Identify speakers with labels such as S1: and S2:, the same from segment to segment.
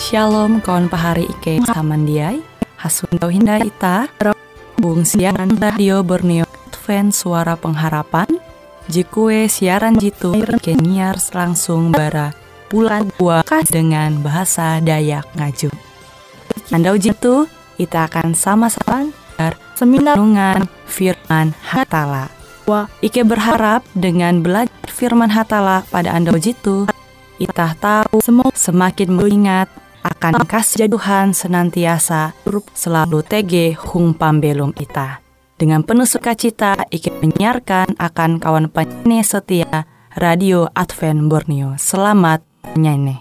S1: Shalom kawan pahari Ike samandiai Hasundau hinda ita Bung siaran radio Borneo Advent Suara Pengharapan Jikue siaran jitu Ike nyiar langsung bara bulan buah dengan bahasa Dayak Ngaju. Andau jitu kita akan sama-sama seminar renungan firman Hatala. Ike berharap dengan belajar firman Hatala pada andau jitu kita tahu semakin mengingat akan kasih Tuhan senantiasa selalu tege hung pambelum ita. Dengan penuh sukacita Ike menyiarkan akan kawan penyanyi setia Radio Advent Borneo. Selamat menyanyi.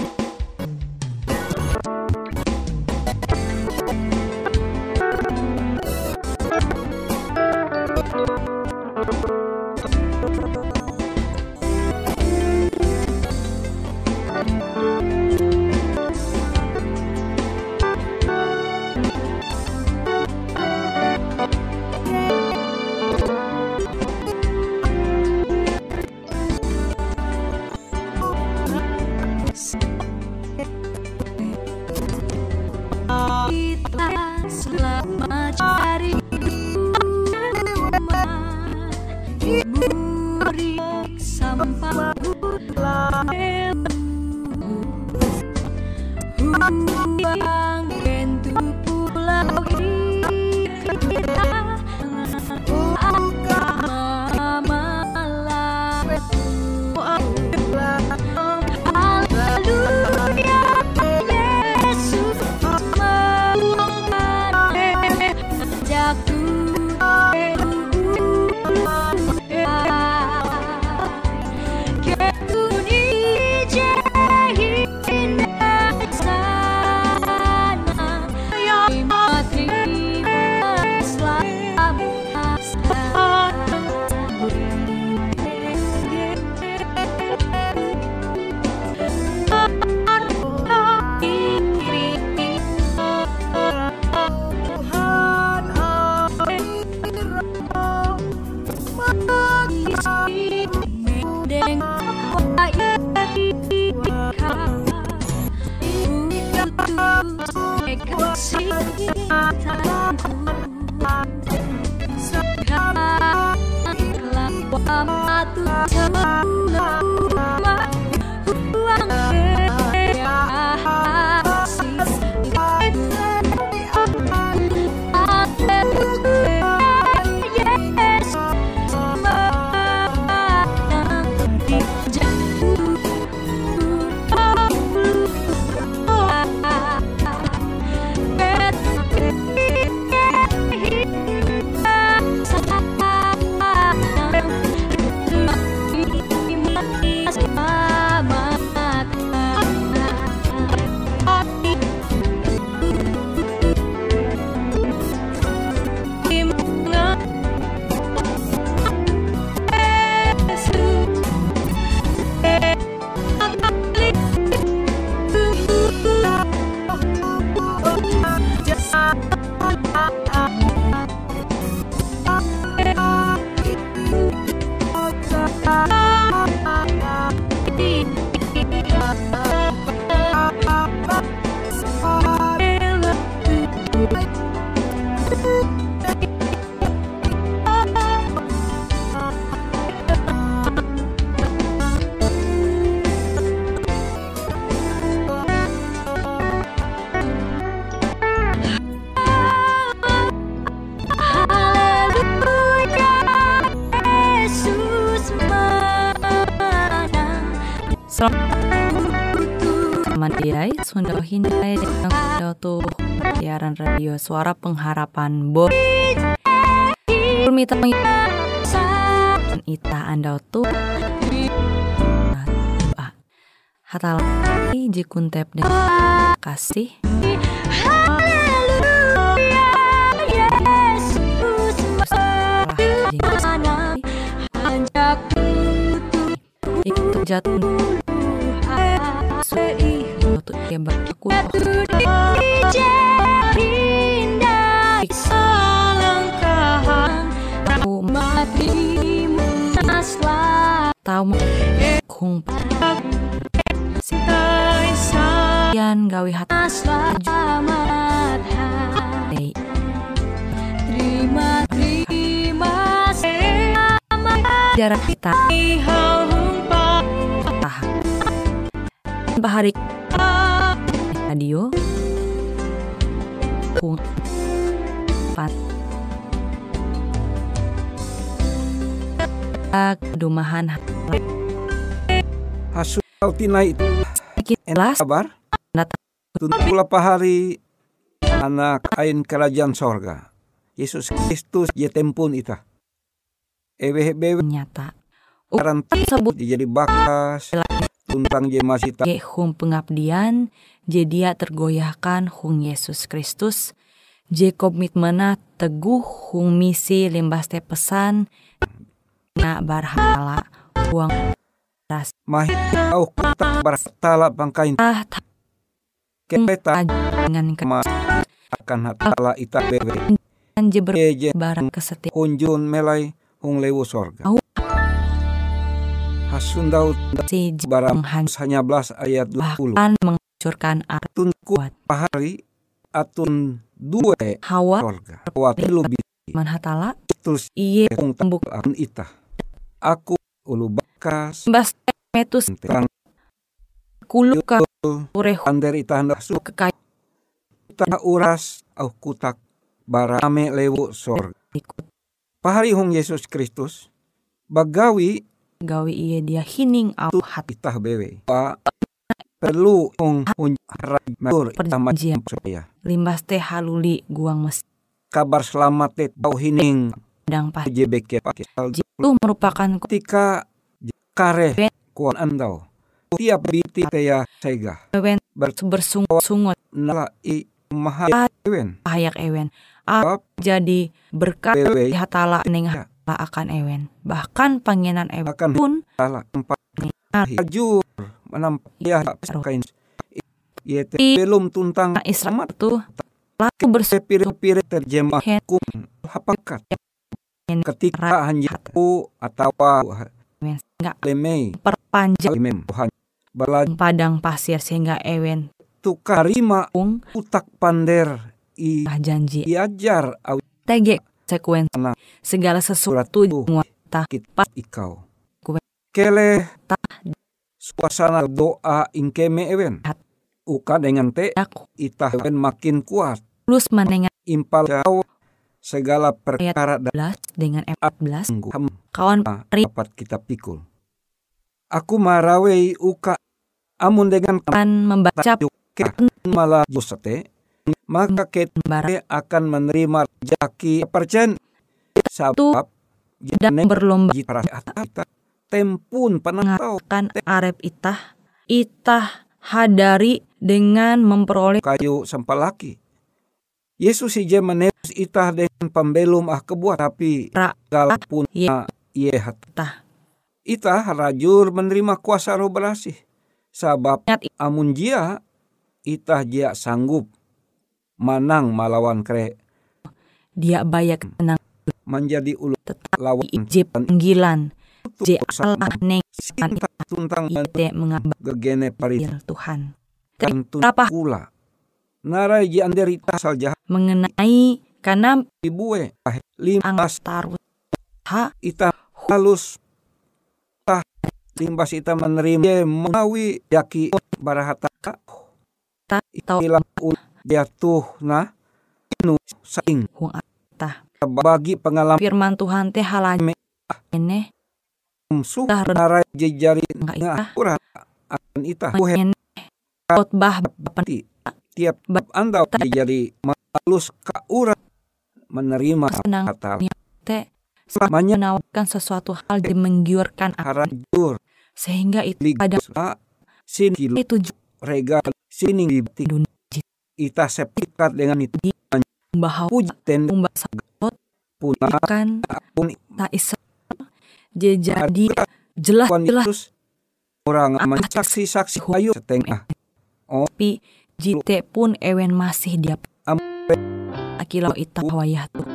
S1: Samandiai Sundau hindai dengan tuh siaran radio Suara Pengharapan Mita ita andau tuh Hatala jikuntep dengan kasih itu jatuh untuk dia berlaku tahu kung yan Tuhan gawe hati
S2: Selamat hari. Terima
S1: jarak kita bahari radio kung pat kedumahan
S3: Hasudau tina itu
S1: kita
S3: kabar tuntulah pahari anak ain kerajaan sorga Yesus Kristus jetempun ita ewe
S1: nyata
S3: karan
S1: tersebut
S3: jadi bakas tuntang je masih tak
S1: hung pengabdian jadi tergoyahkan hung Yesus Kristus je komitmena teguh hung misi limbas te pesan na barhala uang ras
S3: mahi au kutak bartala pangkain kepeta
S1: dengan
S3: akan hatala ita bewe
S1: je
S3: je
S1: barang kesetiaan
S3: kunjun melai hung lewu sorga Hasundau
S1: si
S3: barang
S1: menghanyut
S3: hanya belas ayat 20
S1: bahkan menghancurkan arah
S3: tun
S1: kuat
S3: pahari atun dua
S1: Hawa
S3: sorga kuat lebih
S1: manhatala
S3: terus
S1: iye
S3: hung
S1: tembuk
S3: an ita aku ulu bakas
S1: bas metus
S3: terang
S1: kuluka ureh
S3: ander ita hendak su
S1: kekaya
S3: ita uras au kutak barame lewu sorga
S1: ikut
S3: pahari hung Yesus Kristus bagawi
S1: gawe iye dia hining au hati
S3: itah bewe pa perlu hung matur
S1: perjanjian
S3: saya
S1: limbas teh haluli guang mes
S3: kabar selamat te bau hining
S1: dang pas
S3: JBK pakai
S1: itu merupakan
S3: ketika kare kuan andau tiap biti teya sega
S1: kewen bersungut-sungut
S3: nala i mahal ewen
S1: pahayak ewen jadi berkat
S3: bewe
S1: hatala ning hatala akan ewen bahkan pangenan ewen
S3: akan
S1: pun
S3: salah tempat hajur menampak ya kain yete belum tuntang
S1: Israel itu lalu
S3: sepir-pir terjemah kum hapakat ketika hanjiku atau
S1: enggak
S3: lemei
S1: perpanjang
S3: lemem balaj
S1: padang pasir sehingga ewen
S3: tukarima
S1: ung
S3: utak pander i
S1: janji
S3: iajar au
S1: tege sekuen
S3: Anak.
S1: segala sesuatu muata
S3: kita ikau
S1: Kue.
S3: kele
S1: ta
S3: suasana doa ingkeme ewen uka dengan te
S1: aku
S3: itah ewen makin kuat
S1: plus mendengar
S3: impal kau segala perkara
S1: 11 dengan 14
S3: ham
S1: kawan pri
S3: dapat kita pikul aku marawei uka amun dengan
S1: akan membaca
S3: malah dosate maka kita akan menerima rezeki percen sebab
S1: dan berlomba
S3: kita tempun penantau
S1: kan arep itah hadari dengan memperoleh
S3: kayu sempalaki Yesus ije menebus itah dengan pembelum kebuat tapi galapun ye hatah itah rajur menerima kuasa roh belasih sabab amun jia itah jia sanggup manang malawan kre
S1: dia bayak tenang
S3: menjadi ulu
S1: tetap
S3: lawan
S1: ije panggilan je Allah neng
S3: sinta tuntang
S1: ite mengabak
S3: gegene pari
S1: Tuhan
S3: kantun
S1: apa
S3: kula narai ji anderita sal jahat
S1: mengenai karena
S3: ibue limbas
S1: taruh ha
S3: ita halus tah limbas ita menerima mawi yaki barahata
S1: ta tau
S3: ilang jatuh na nu saing
S1: hung atah
S3: bagi pengalaman
S1: firman Tuhan teh halanya ene
S3: musuh narai jejari
S1: itah
S3: ngaturan akan ita buhen
S1: khotbah
S3: penti tiap bab andau jadi malus ka urang menerima
S1: senang
S3: kata
S1: teh
S3: selamanya
S1: menawarkan sesuatu hal yang menggiurkan
S3: harajur
S1: sehingga itu ada
S3: sini
S1: tujuh
S3: regal sini di
S1: dunia
S3: ita sepikat dengan itu
S1: bahwa
S3: pujen
S1: sagot
S3: punah
S1: kan
S3: pun
S1: tak isa jadi jelas
S3: orang mensaksi-saksi ayo setengah
S1: tapi jite pun ewen masih dia
S3: ampe
S1: akilau ita wayah tuh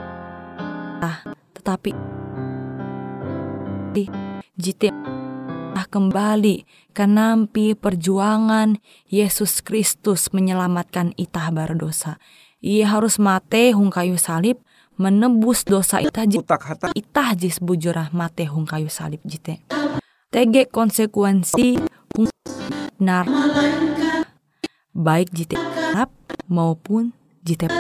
S1: tetapi jite kembali ke nampi perjuangan Yesus Kristus menyelamatkan itah berdosa. Ia harus mate hung kayu salib menebus dosa itah jis bujurah mate hung kayu salib jite. Tege konsekuensi hung nar baik jite halap maupun jite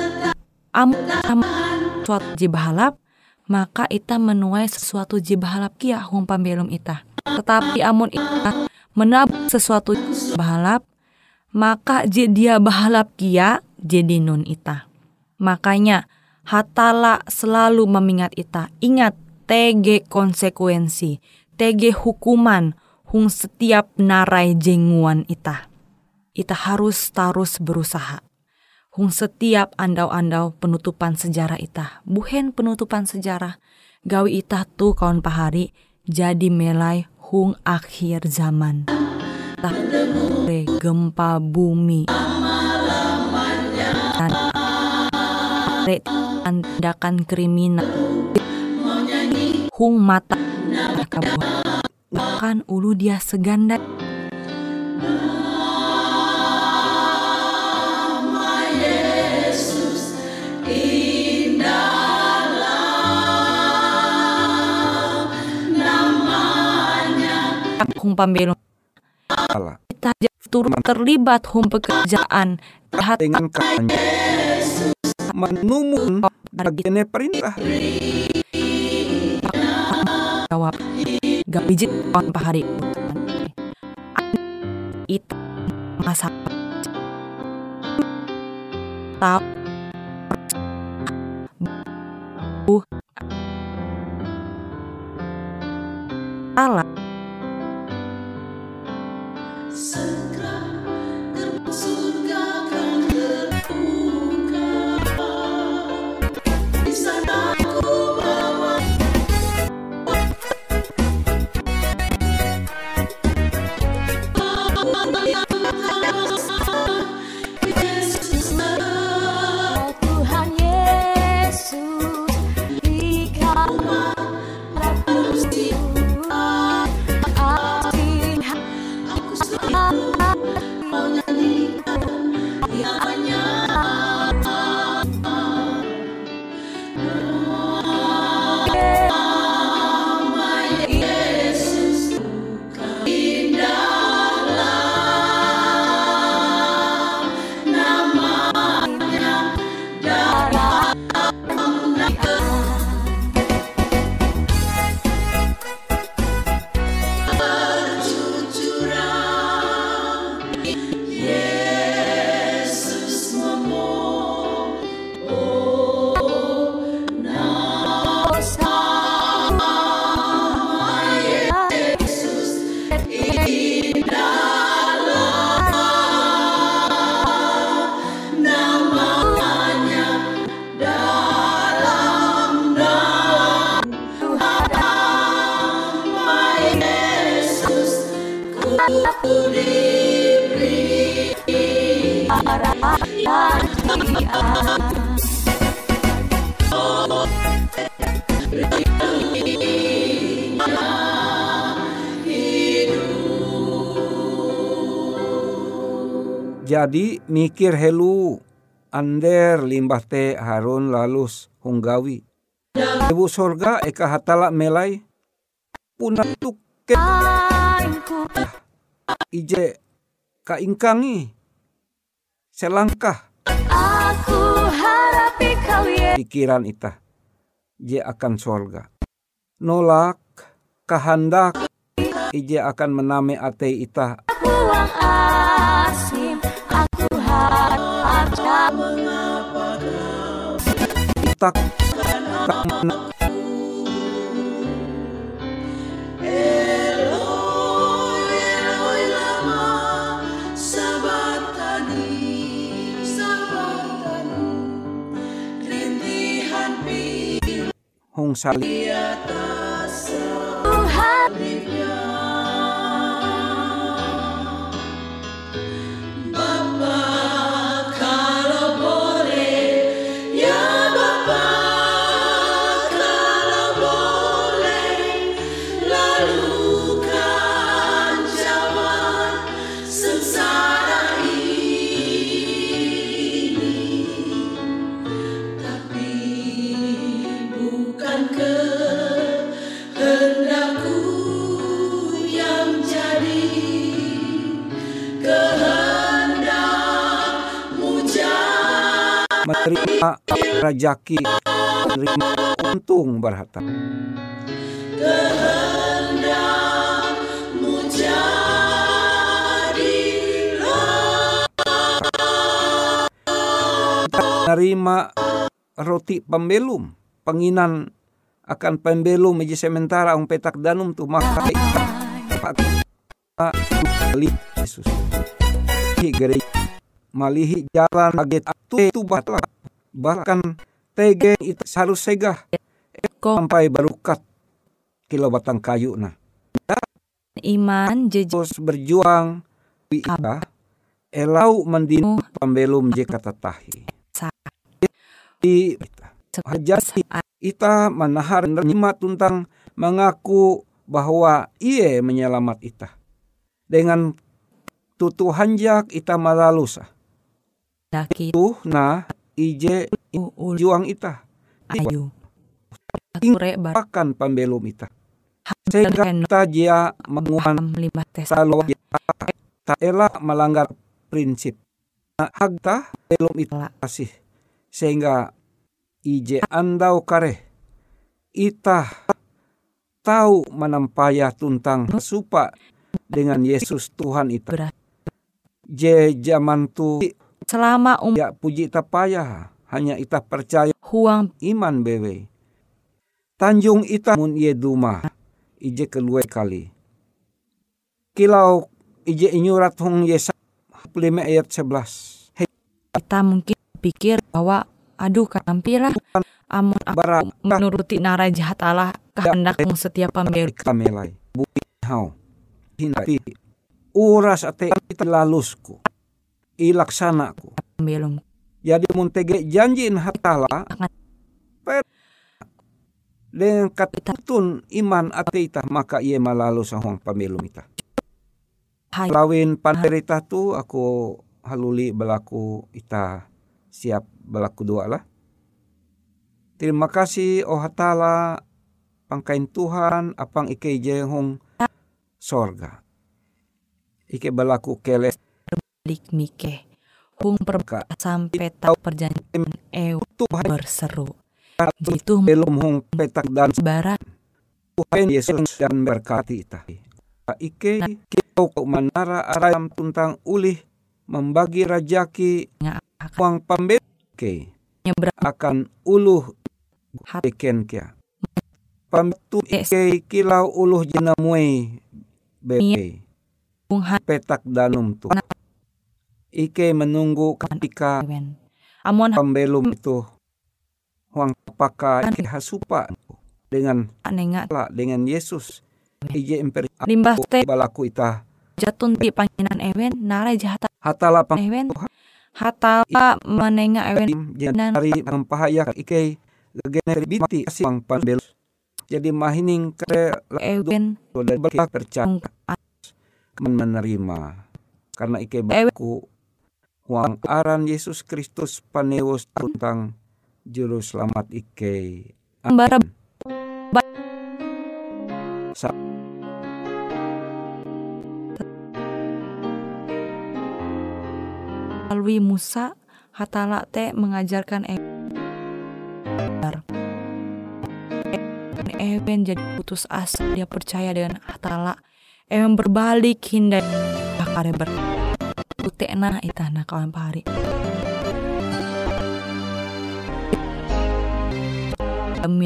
S1: suatu jibahalap, maka ita menuai sesuatu jibahalap kia hung pambelum ita. Tetapi amun ita menabung sesuatu bahalap, maka dia bahalap kia jadi nun ita. Makanya hatala selalu memingat ita. Ingat tege konsekuensi, tege hukuman hung setiap narai jenguan ita. Ita harus terus berusaha. Hung setiap andau-andau penutupan sejarah ita. Buhen penutupan sejarah. Gawi ita tu kawan pahari jadi melai hung akhir zaman. Gempa bumi. Tindakan kriminal. Hung mata kabuah. Bahkan ulu dia seganda. Hung pambelum kita turut terlibat hung pekerjaan jahat
S3: dengan kannya menumun bagiannya perintah
S1: jawab gabijit on pahari itu masa tahu Allah
S3: Jadi mikir helu ander limbah te Harun lalus hunggawi. Ibu sorga eka hatala melai punatuk ke ije kaingkangi selangkah
S2: Aku harapi kau
S3: pikiran ita je akan sorga. Nolak kehendak ije akan mename ate ita.
S2: buang asim. Aku harap
S3: Tak hong salib menerima rajaki, menerima untung berharta. Menerima roti pembelum, penginan akan pembelum meja sementara ang petak danum tu maka Yesus gereja malihi jalan aget tu batla bahkan tege itu harus segah sampai barukat kilo batang kayu nah
S1: iman
S3: terus berjuang ita elau mendinu pembelum je kata tahi di hajati ita manahar nerima tuntang mengaku bahwa ia menyelamat ita dengan tutu hanjak ita malalusa tuh nah ije juang ita
S1: ayu
S3: akan pembelum ita sehingga kita dia menguhan selalu tak elak melanggar prinsip hagta belum ita kasih sehingga ije andau kare ita tahu menampaya tuntang supa dengan Yesus Tuhan ita je zaman tu
S1: selama
S3: ya puji tapaya hanya ita percaya
S1: huang
S3: iman bewe tanjung ita mun ye duma ije kedua kali kilau ije inyurat hong Yesaya 5 ayat 11
S1: kita mungkin pikir bahwa aduh kanampira amun aku menuruti nara jahat Allah kehendakmu setiap pembeli
S3: kamelai bukti hau hinati uras ate ita lalusku ilaksanaku
S1: belum
S3: jadi muntege janjiin hatala dengan katutun iman ate ita maka ia malalu sahong pamilum ita lawin panderita tu aku haluli belaku ita siap belaku dua lah. Terima kasih oh hatala pangkain Tuhan apang ike jehong sorga. Ike belaku keles
S1: balik mike hung perka sampai tak perjanjian berseru. Jitu
S3: belum hong petak dan
S1: barat
S3: Tuhan Yesus dan berkati ita. Ike kau manara aram tuntang ulih membagi rajaki uang pembeke akan uluh beken kia pamtu ike kilau uluh jenamue bebe petak danum tu ike menunggu ketika
S1: amon
S3: pembelum itu uang pakai ike hasupa dengan Yesus ije
S1: limbah teh
S3: balaku ita
S1: jatun di panginan ewen nara jahat
S3: hatala pang
S1: ewen hatala menenga ewen
S3: dan hari mempahaya ike gener binti asing panbel jadi mahining kere
S1: ewen
S3: dan percaya menerima karena ike baku huang aran Yesus Kristus paneus tuntang juru selamat ike
S1: barab melalui Musa hatala teh mengajarkan Ewen jadi putus asa dia percaya dengan hatala Ewen berbalik hindai bakare berputekna itana kawan pahari demi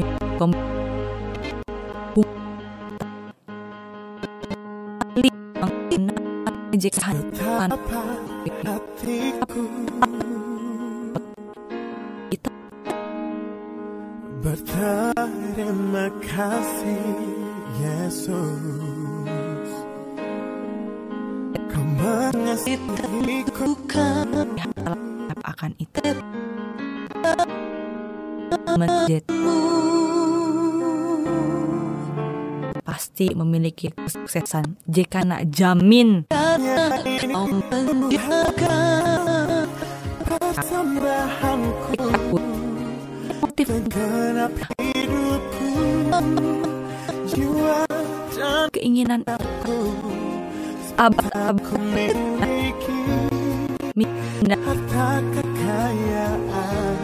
S4: berterima kasih Yesus kau mengasihiku
S1: akan itu menjadi pasti memiliki kesuksesan jika nak jamin
S4: persembahanku genap hidupku jiwa dan
S1: keinginan
S4: aku miliki harta kekayaan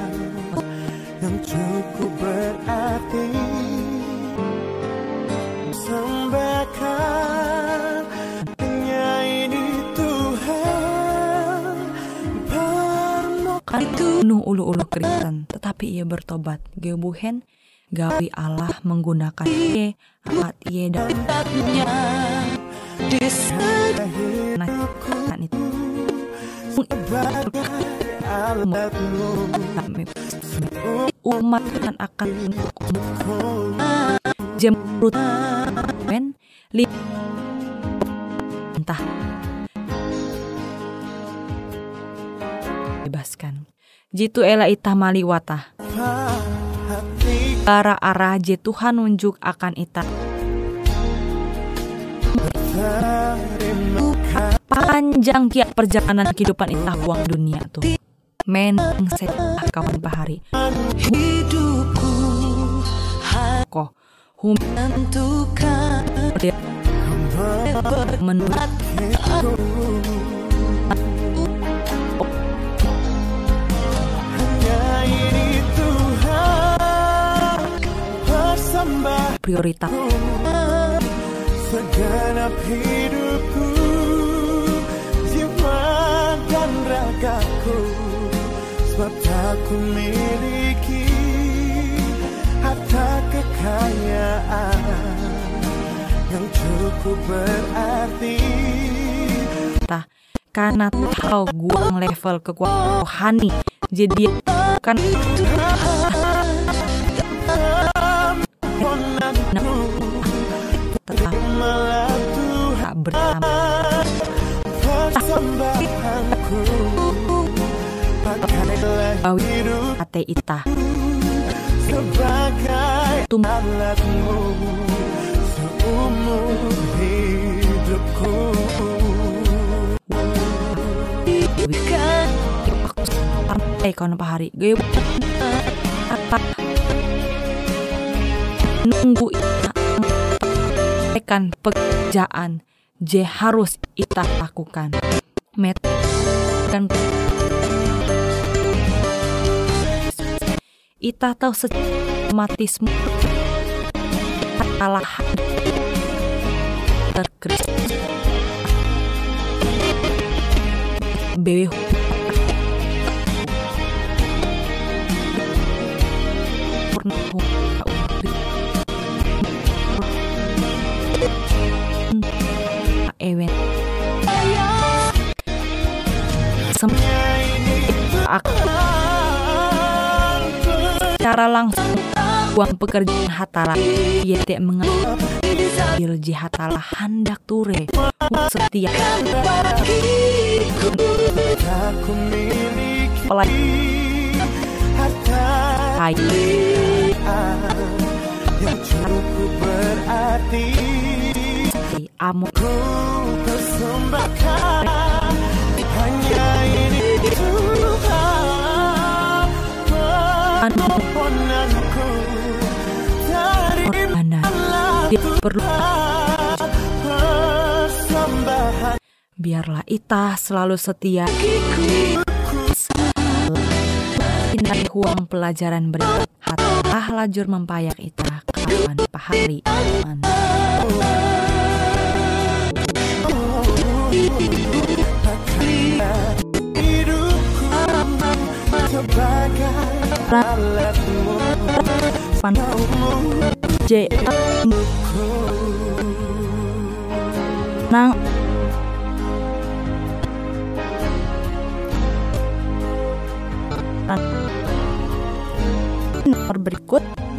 S1: ulu-ulu Kristen, tetapi ia bertobat. Gebuhen gawi Allah menggunakan ia amat ia datangnya di sana itu umat akan jemrut men entah bebaskan jitu ela itah maliwatah arah je Tuhan nunjuk akan itah panjang kia perjalanan kehidupan itah uang dunia tuh meneng saya kawan pahari hidupku kok menentukan menurut prioritas
S4: segenap hidupku, jiwa dan ragaku, sebab tak ku miliki harta kekayaan yang cukup berarti.
S1: Karena tahu guang level kekuatan rohani, jadi kan tetap tak bersama ate ita
S4: sebagai alatmu seumur hidupku.
S1: Kono pahari gue apa nunggu kan pekerjaan je harus ita lakukan met kan ita tahu sematisme kalah terkris bewe ewen cara langsung uang pekerjaan hatala ia tak mengambil jihatala hendak ture setia hai
S4: yang cukup berarti
S1: amu
S4: persembahkan hanya ini Tuhan permohonanku dari
S1: mana dia perlu
S4: persembahan.
S1: Biarlah ita selalu setia dari huang pelajaran berikut hatah lajur mempayak ita kawan pahari aman.
S4: Hidupku sebagai alatmu
S1: J nang nomor berikut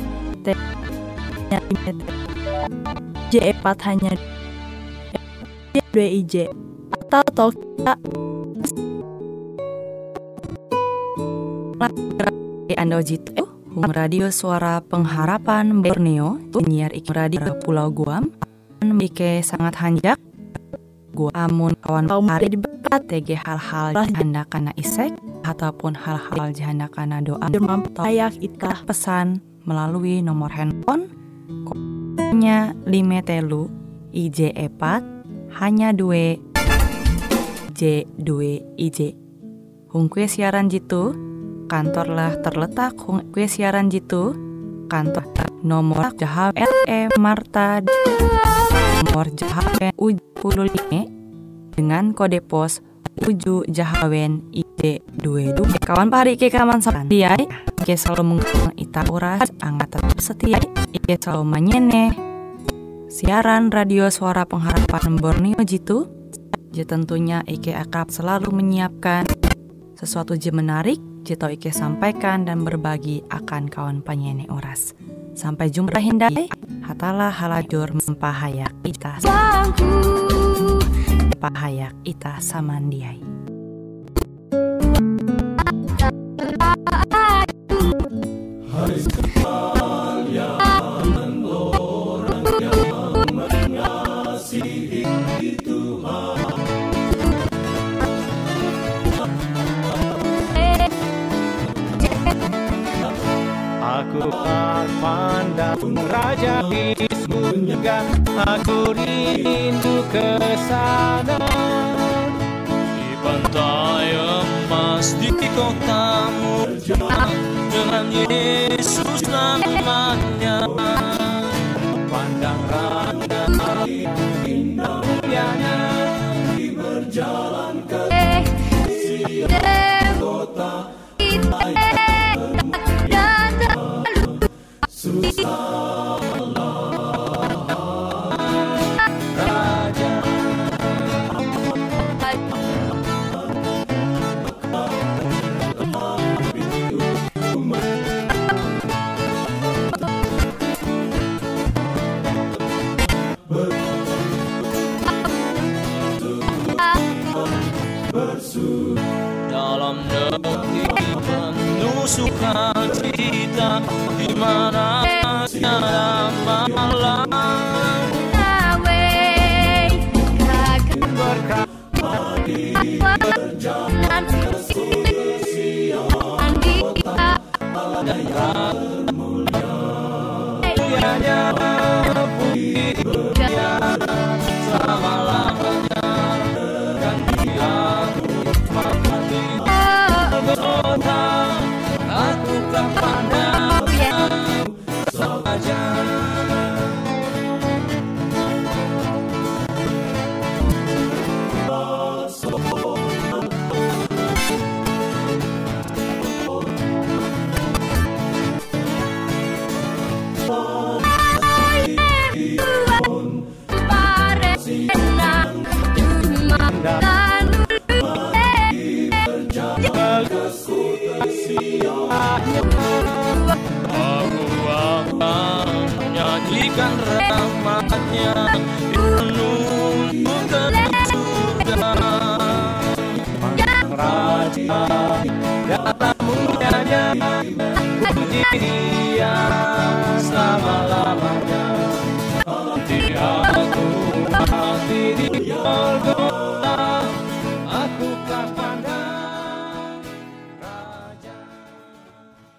S1: J4 hanya 2 IJ atau kita Anda jitu Radio Suara Pengharapan Borneo penyiar radio Pulau Guam Mike sangat hanjak gua amun kawan hari debat TG hal-hal janda kana isek ataupun hal-hal janda kana doa mampayak itah pesan melalui nomor handphone nya 5 telu IJ4 hanya 2 J2 IJ hungkue siaran jitu kantorlah terletak hungkue siaran jitu kantor nomor Jahaw LE Marta nomor Jahawen U15 dengan kode pos Uju Jahawen IJ due kawan pari Ike kaman sapandiai Ike selalu mengulang ita uras angkat tetap setia Ike selalu manyene siaran radio suara pengharapan Borneo jitu. Tentunya Ike akan selalu menyiapkan sesuatu je menarik jito Ike sampaikan dan berbagi akan kawan penyanyi oras. Sampai jumpa hindai hatalah halajur mempahayak ita pahayak ita samandiai.
S4: Hari sekalian orang yang mengasihi Tuhan. Aku tak pandang Raja di surga, aku rindu ke sana. Di pantai emas di kotamu dengan Yesus namanya. Pandang Raja indah mulianya di berjalan ke kota susah Raja. Dalam negeri penuh sukacita, di mana tiada malam, berkat pagi berjalan ke Sion, kota dan mulianya puji berjalan selama-lamanya, dan Dia mati Golgota. Aku tak pandang saja. Aku akan menyanyikan rahmatnya menuntun ke surga. Raja dalam mulianya, puji Dia selama-lamanya. Nanti aku mati di Golgota.